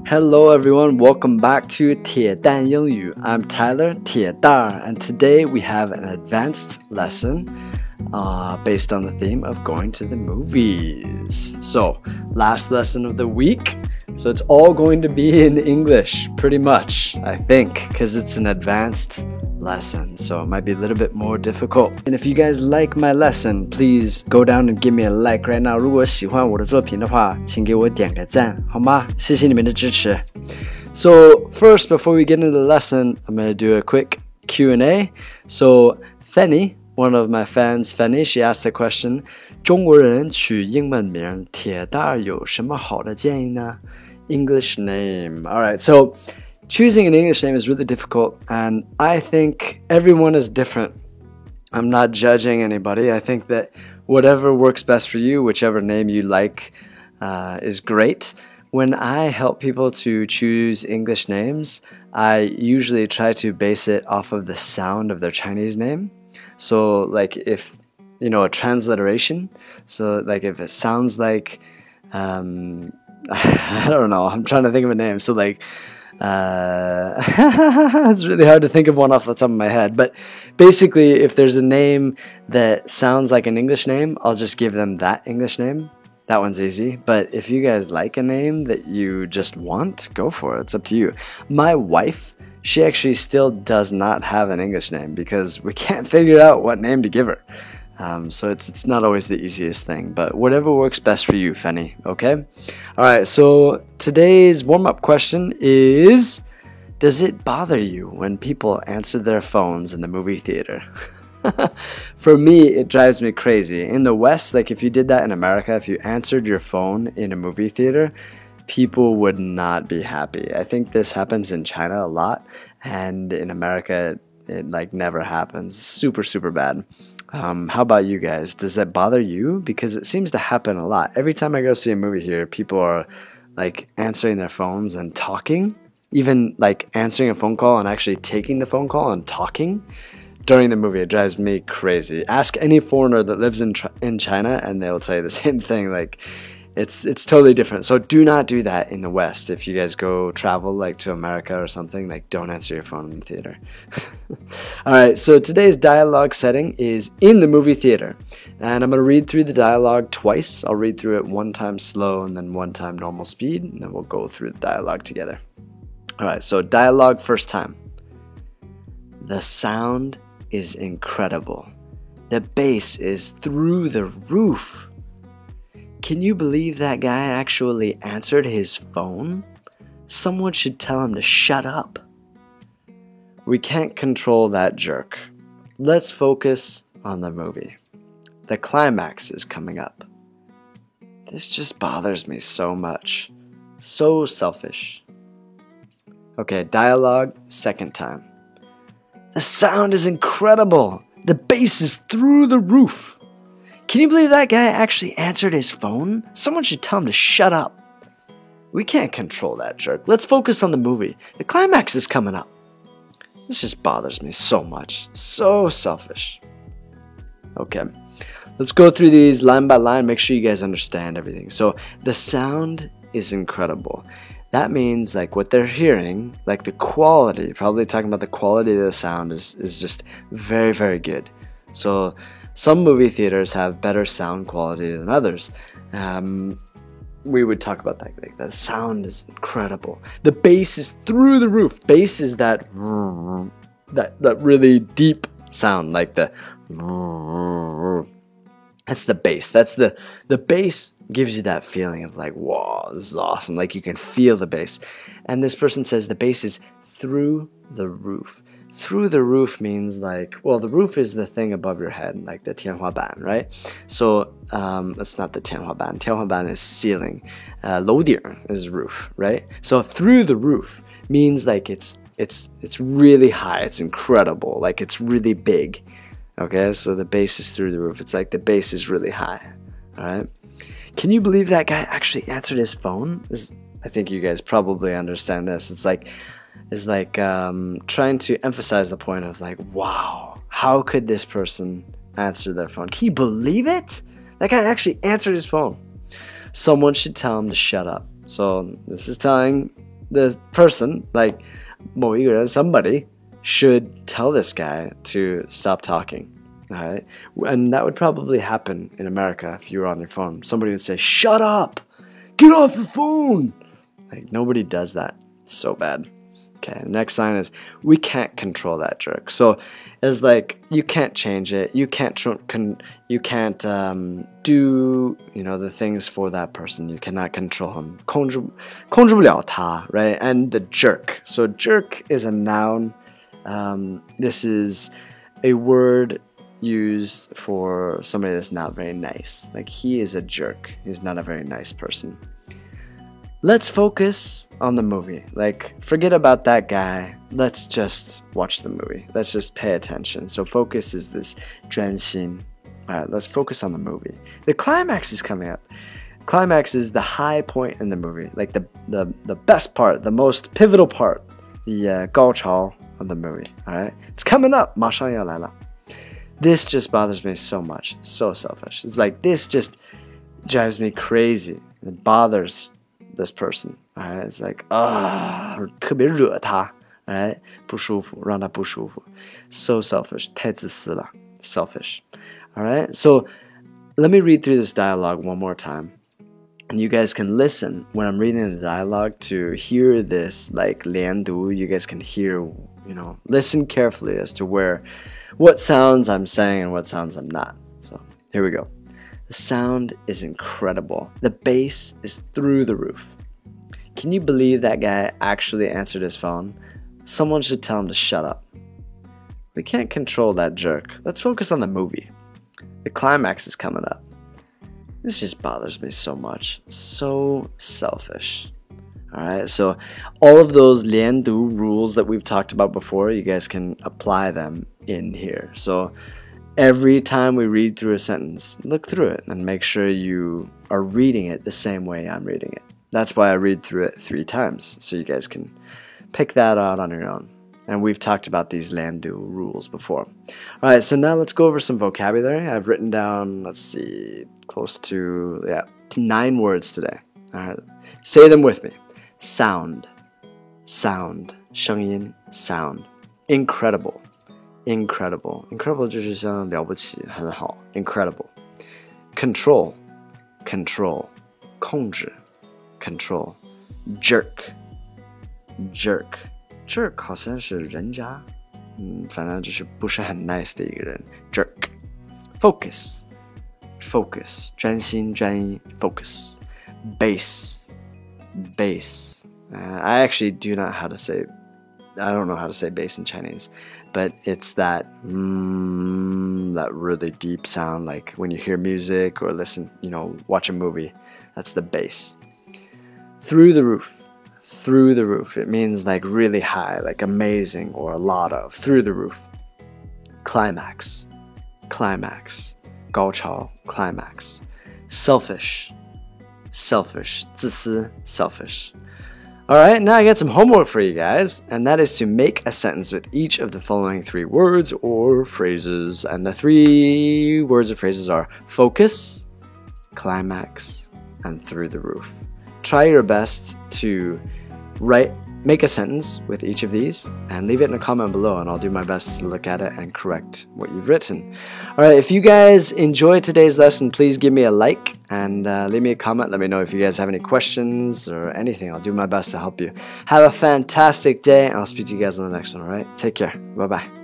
Hello everyone, welcome back to 铁蛋英语. I'm Tyler 铁蛋 and today we have an advanced lesson based on the theme of going to the movies. So, last lesson of the week. So it's all going to be in English, pretty much, I think, because it's an advanced lesson, so it might be a little bit more difficult. And if you guys like my lesson, please go down and give me a like right now. 如果喜欢我的作品的话，请给我点个赞，好吗？谢谢你们的支持。So first, before we get into the lesson, I'm going to do a quick Q&A. So Fanny, one of my fans, Fanny, she asked the question, 中国人取英文名铁蛋有什么好的建议呢？ English name. Alright, so choosing an English name is really difficult, and I think everyone is different. I'm not judging anybody. I think that whatever works best for you, whichever name you like, is great. When I help people to choose English names, I usually try to base it off of the sound of their Chinese name. So, like, if, you know, a transliteration, so, like, if it sounds like, I don't know, I'm trying to think of a name, so, like, it's really hard to think of one off the top of my head, but basically if there's a name that sounds like an English name, I'll just give them that English name. That one's easy. But if you guys like a name that you just want, go for it. It's up to you. My wife, she actually still does not have an English name because we can't figure out what name to give her. So it's not always the easiest thing, but whatever works best for you, Fanny, okay? Alright, so today's warm-up question is, does it bother you when people answer their phones in the movie theater? For me, it drives me crazy. In the West, like if you did that in America, if you answered your phone in a movie theater, people would not be happy. I think this happens in China a lot, and in America, it like never happens. Super, super bad. How about you guys? Does that bother you? Because it seems to happen a lot. Every time I go see a movie here, people are like answering their phones and talking. Even like answering a phone call and actually taking the phone call and talking during the movie. It drives me crazy. Ask any foreigner that lives in China and they'll tell you the same thing. Like it's totally different. So do not do that in the West. If you guys go travel like to America or something, like don't answer your phone in the theater. Alright, so today's dialogue setting is in the movie theater. And I'm going to read through the dialogue twice. I'll read through it one time slow and then one time normal speed. And then we'll go through the dialogue together. Alright, so dialogue first time. The sound is incredible. The bass is through the roof. Can you believe that guy actually answered his phone? Someone should tell him to shut up. We can't control that jerk. Let's focus on the movie. The climax is coming up. This just bothers me so much. So selfish. Okay, dialogue, second time. The sound is incredible. The bass is through the roof. Can you believe that guy actually answered his phone? Someone should tell him to shut up. We can't control that jerk. Let's focus on the movie. The climax is coming up. This just bothers me so much. So selfish. Okay, let's go through these line by line. Make sure you guys understand everything. So the sound is incredible. That means like what they're hearing, like the quality, probably talking about the quality of the sound is just very, very good. So some movie theaters have better sound quality than others. We would talk about that. Like the sound is incredible. The bass is through the roof. Bass is that really deep sound, like the. That's the bass. That's the bass gives you that feeling of like, whoa, this is awesome. Like you can feel the bass. And this person says the bass is through the roof. Through the roof means like, well, the roof is the thing above your head, like the 天花板, right? So that's not the 天花板. 天花板 is ceiling. 楼顶 is roof, right? So through the roof means like it's really high. It's incredible. Like it's really big. Okay, so the bass is through the roof. It's like the bass is really high. All right. Can you believe that guy actually answered his phone? I think you guys probably understand this. It's like trying to emphasize the point of like, wow, how could this person answer their phone? Can you believe it? That guy actually answered his phone. Someone should tell him to shut up. So this is telling the person, like 某一个人, somebody should tell this guy to stop talking. All right? And that would probably happen in America if you were on your phone. Somebody would say, shut up! Get off the phone! Like, nobody does that. It's so bad. Okay, the next line is, we can't control that jerk. So it's like, you can't change it. You can't do, the things for that person. You cannot control him. 控制不了他, right? And the jerk. So jerk is a noun. This is a word used for somebody that's not very nice. Like, he is a jerk. He's not a very nice person. Let's focus on the movie. Like, forget about that guy. Let's just watch the movie. Let's just pay attention. So focus is this 专心. Alright, let's focus on the movie. The climax is coming up. Climax is the high point in the movie. Like the best part, the most pivotal part. The 高潮 of the movie. Alright? It's coming up. 马上要来了. This just bothers me so much. So selfish. It's like, this just drives me crazy. It bothers this person. Alright? It's like, 特别惹他. Alright? 不舒服, 让他不舒服. So selfish. 太自私了. Selfish. Alright? So, let me read through this dialogue one more time. And you guys can listen when I'm reading the dialogue to hear this, like, 连读. You guys can hear, listen carefully as to what sounds I'm saying and what sounds I'm not. So, here we go. The sound is incredible. The bass is through the roof. Can you believe that guy actually answered his phone? Someone should tell him to shut up. We can't control that jerk. Let's focus on the movie. The climax is coming up. This just bothers me so much. So selfish. Alright, so all of those 连读 rules that we've talked about before, you guys can apply them in here. So every time we read through a sentence, look through it and make sure you are reading it the same way I'm reading it. That's why I read through it 3 times, so you guys can pick that out on your own. And we've talked about these 连读 rules before. Alright, so now let's go over some vocabulary. I've written down, let's see, close to 9 words today. Alright, say them with me. Sound, sound, 声音, sound. Incredible, incredible. Incredible 就是像了不起，很好. Incredible. Control, control, 控制, control. Jerk, jerk. Jerk 好像是人渣，反正就是不是很 nice 的一个人。Jerk. Focus, focus. 专心专一 focus. Bass, bass. I actually do not how to say. I don't know how to say bass in Chinese, but it's that that really deep sound, like when you hear music or listen, watch a movie. That's the bass. Through the roof. Through the roof. It means like really high, like amazing or a lot of. Through the roof. Climax. Climax. 高潮 climax. Selfish. Selfish. 自私 selfish. Alright, now I got some homework for you guys, and that is to make a sentence with each of the following 3 words or phrases. And the 3 words or phrases are focus, climax, and through the roof. Try your best to make a sentence with each of these and leave it in a comment below, and I'll do my best to look at it and correct what you've written. Alright, if you guys enjoyed today's lesson, please give me a like and leave me a comment. Let me know if you guys have any questions or anything. I'll do my best to help you. Have a fantastic day, and I'll speak to you guys on the next one, alright? Take care. Bye-bye.